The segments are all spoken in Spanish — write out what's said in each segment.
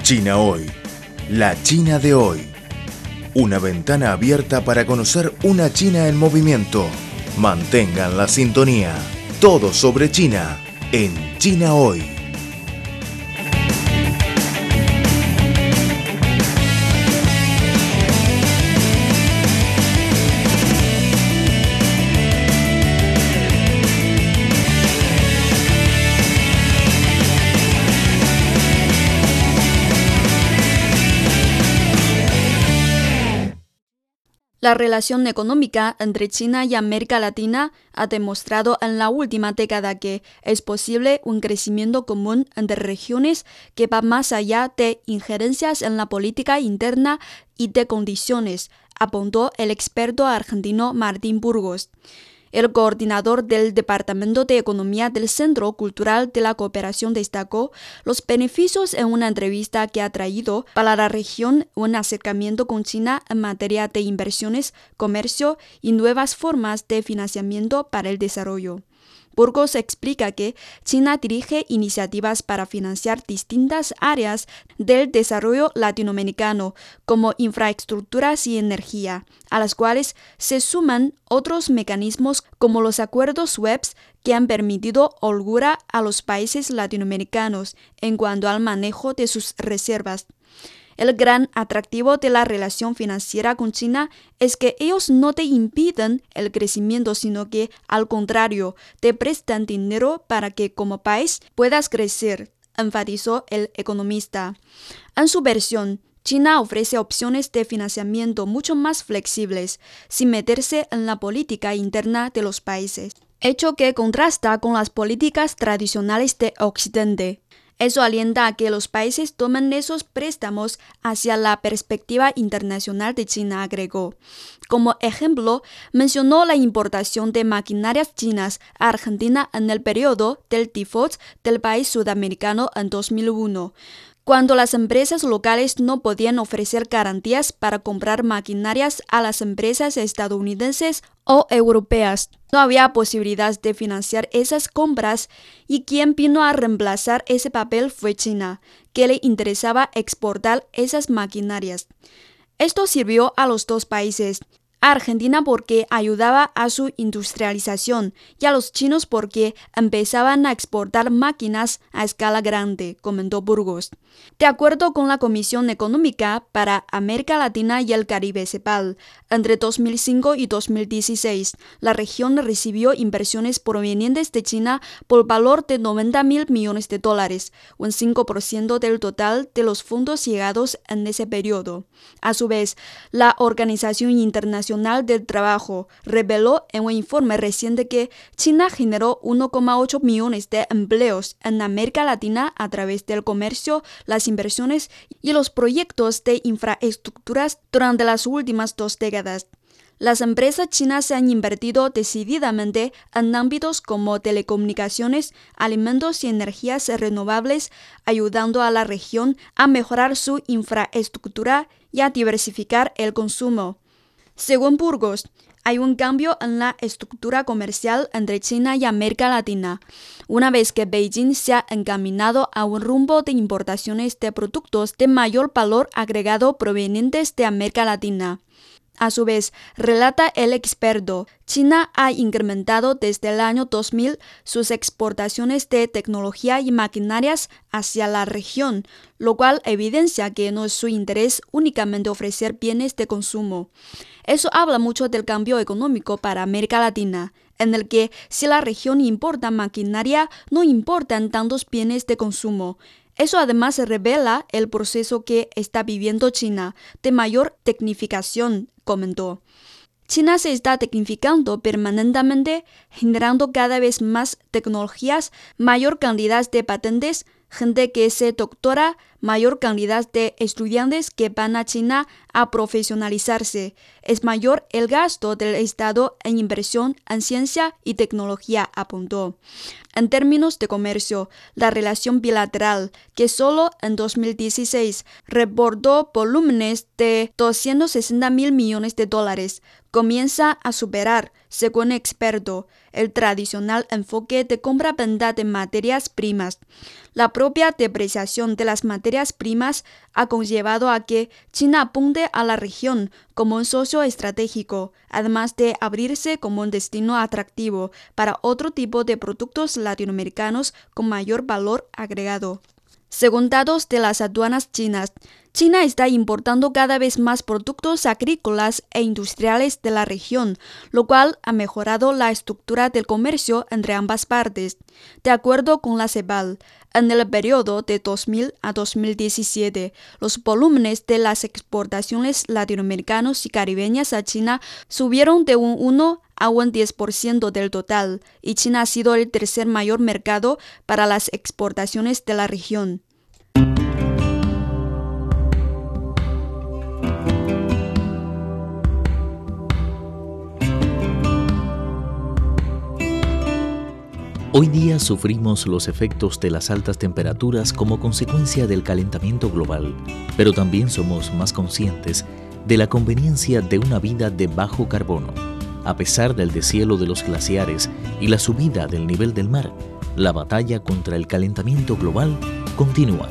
China Hoy, la China de hoy. Una ventana abierta para conocer una China en movimiento. Mantengan la sintonía. Todo sobre China en China Hoy. La relación económica entre China y América Latina ha demostrado en la última década que es posible un crecimiento común entre regiones que va más allá de injerencias en la política interna y de condiciones, apuntó el experto argentino Martín Burgos. El coordinador del Departamento de Economía del Centro Cultural de la Cooperación destacó los beneficios en una entrevista que ha traído para la región un acercamiento con China en materia de inversiones, comercio y nuevas formas de financiamiento para el desarrollo. Burgos explica que China dirige iniciativas para financiar distintas áreas del desarrollo latinoamericano, como infraestructuras y energía, a las cuales se suman otros mecanismos como los acuerdos BEPS que han permitido holgura a los países latinoamericanos en cuanto al manejo de sus reservas. El gran atractivo de la relación financiera con China es que ellos no te impiden el crecimiento, sino que, al contrario, te prestan dinero para que como país puedas crecer, enfatizó el economista. En su versión, China ofrece opciones de financiamiento mucho más flexibles, sin meterse en la política interna de los países, hecho que contrasta con las políticas tradicionales de Occidente. Eso alienta a que los países tomen esos préstamos hacia la perspectiva internacional de China, agregó. Como ejemplo, mencionó la importación de maquinarias chinas a Argentina en el periodo del default del país sudamericano en 2001. Cuando las empresas locales no podían ofrecer garantías para comprar maquinarias a las empresas estadounidenses o europeas, no había posibilidad de financiar esas compras y quien vino a reemplazar ese papel fue China, que le interesaba exportar esas maquinarias. Esto sirvió a los dos países. A Argentina porque ayudaba a su industrialización y a los chinos porque empezaban a exportar máquinas a escala grande, comentó Burgos. De acuerdo con la Comisión Económica para América Latina y el Caribe CEPAL, entre 2005 y 2016, la región recibió inversiones provenientes de China por valor de $90.000 millones, un 5% del total de los fondos llegados en ese periodo. A su vez, la Organización Internacional del Trabajo reveló en un informe reciente que China generó 1,8 millones de empleos en América Latina a través del comercio, las inversiones y los proyectos de infraestructuras durante las últimas 2 décadas. Las empresas chinas se han invertido decididamente en ámbitos como telecomunicaciones, alimentos y energías renovables, ayudando a la región a mejorar su infraestructura y a diversificar el consumo. Según Burgos, hay un cambio en la estructura comercial entre China y América Latina, una vez que Beijing se ha encaminado a un rumbo de importaciones de productos de mayor valor agregado provenientes de América Latina. A su vez, relata el experto, China ha incrementado desde el año 2000 sus exportaciones de tecnología y maquinarias hacia la región, lo cual evidencia que no es su interés únicamente ofrecer bienes de consumo. Eso habla mucho del cambio económico para América Latina, en el que si la región importa maquinaria, no importan tantos bienes de consumo. Eso además revela el proceso que está viviendo China de mayor tecnificación, comentó. China se está tecnificando permanentemente, generando cada vez más tecnologías, mayor cantidad de patentes, gente que se doctora, mayor cantidad de estudiantes que van a China a profesionalizarse. Es mayor el gasto del Estado en inversión en ciencia y tecnología, apuntó. En términos de comercio, la relación bilateral, que solo en 2016 rebordó volúmenes de $260.000 millones, comienza a superar según experto, el tradicional enfoque de compra-venta de materias primas. La propia depreciación de las materias primas ha conllevado a que China apunte a la región como un socio estratégico, además de abrirse como un destino atractivo para otro tipo de productos latinoamericanos con mayor valor agregado. Según datos de las aduanas chinas, China está importando cada vez más productos agrícolas e industriales de la región, lo cual ha mejorado la estructura del comercio entre ambas partes. De acuerdo con la CEPAL, en el periodo de 2000 a 2017, los volúmenes de las exportaciones latinoamericanas y caribeñas a China subieron de un 1 a un 10% del total, y China ha sido el tercer mayor mercado para las exportaciones de la región. Hoy día sufrimos los efectos de las altas temperaturas como consecuencia del calentamiento global, pero también somos más conscientes de la conveniencia de una vida de bajo carbono. A pesar del deshielo de los glaciares y la subida del nivel del mar, la batalla contra el calentamiento global continúa.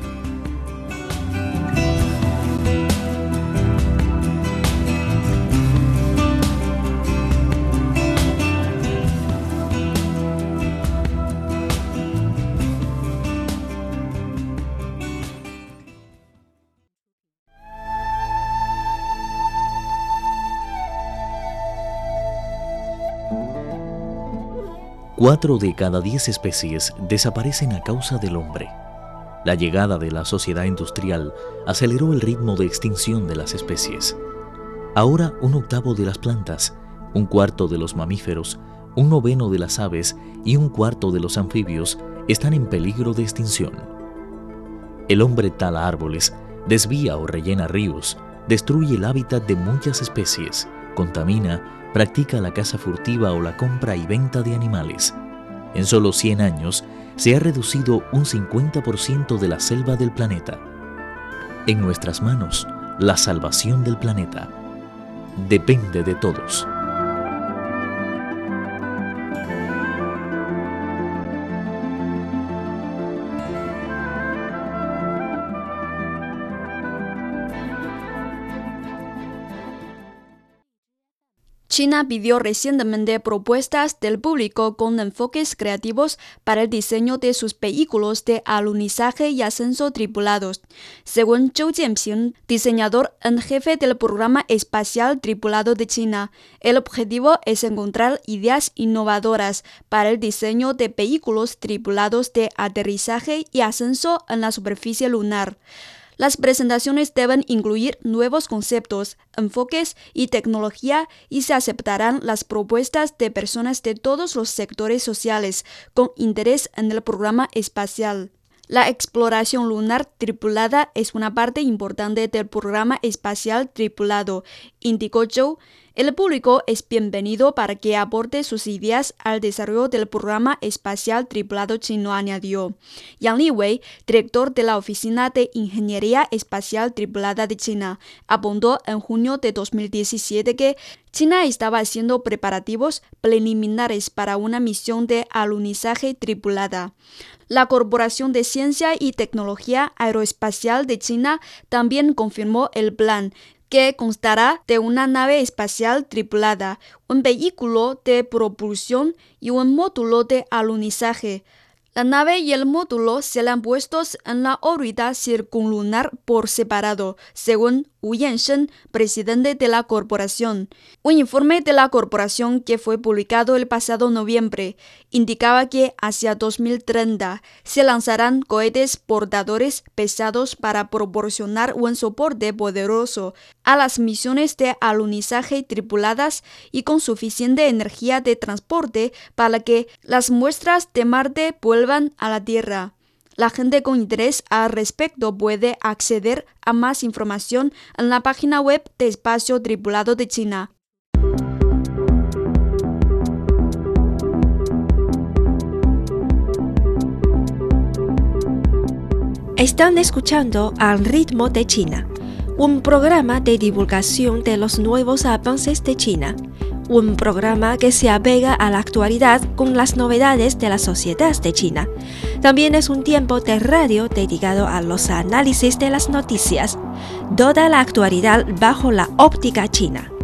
Cuatro de cada 10 especies desaparecen a causa del hombre. La llegada de la sociedad industrial aceleró el ritmo de extinción de las especies. Ahora 1/8 de las plantas, 1/4 de los mamíferos, 1/9 de las aves y 1/4 de los anfibios están en peligro de extinción. El hombre tala árboles, desvía o rellena ríos, destruye el hábitat de muchas especies, contamina, practica la caza furtiva o la compra y venta de animales. En solo 100 años se ha reducido un 50% de la selva del planeta. En nuestras manos, la salvación del planeta depende de todos. China pidió recientemente propuestas del público con enfoques creativos para el diseño de sus vehículos de alunizaje y ascenso tripulados. Según Zhou Jianping, diseñador en jefe del programa espacial tripulado de China, el objetivo es encontrar ideas innovadoras para el diseño de vehículos tripulados de aterrizaje y ascenso en la superficie lunar. Las presentaciones deben incluir nuevos conceptos, enfoques y tecnología, y se aceptarán las propuestas de personas de todos los sectores sociales con interés en el programa espacial. La exploración lunar tripulada es una parte importante del programa espacial tripulado, indicó Zhou. El público es bienvenido para que aporte sus ideas al desarrollo del programa espacial tripulado chino, añadió. Yang Liwei, director de la Oficina de Ingeniería Espacial Tripulada de China, apuntó en junio de 2017 que China estaba haciendo preparativos preliminares para una misión de alunizaje tripulada. La Corporación de Ciencia y Tecnología Aeroespacial de China también confirmó el plan, que constará de una nave espacial tripulada, un vehículo de propulsión y un módulo de alunizaje. La nave y el módulo serán puestos en la órbita circunlunar por separado, según Wu Yansheng, presidente de la corporación. Un informe de la corporación que fue publicado el pasado noviembre indicaba que hacia 2030 se lanzarán cohetes portadores pesados para proporcionar un soporte poderoso a las misiones de alunizaje tripuladas y con suficiente energía de transporte para que las muestras de Marte vuelvan a la Tierra. La gente con interés al respecto puede acceder a más información en la página web de Espacio Tripulado de China. Están escuchando Al ritmo de China, un programa de divulgación de los nuevos avances de China, un programa que se apega a la actualidad con las novedades de la sociedad de China. También es un tiempo de radio dedicado a los análisis de las noticias, toda la actualidad bajo la óptica china.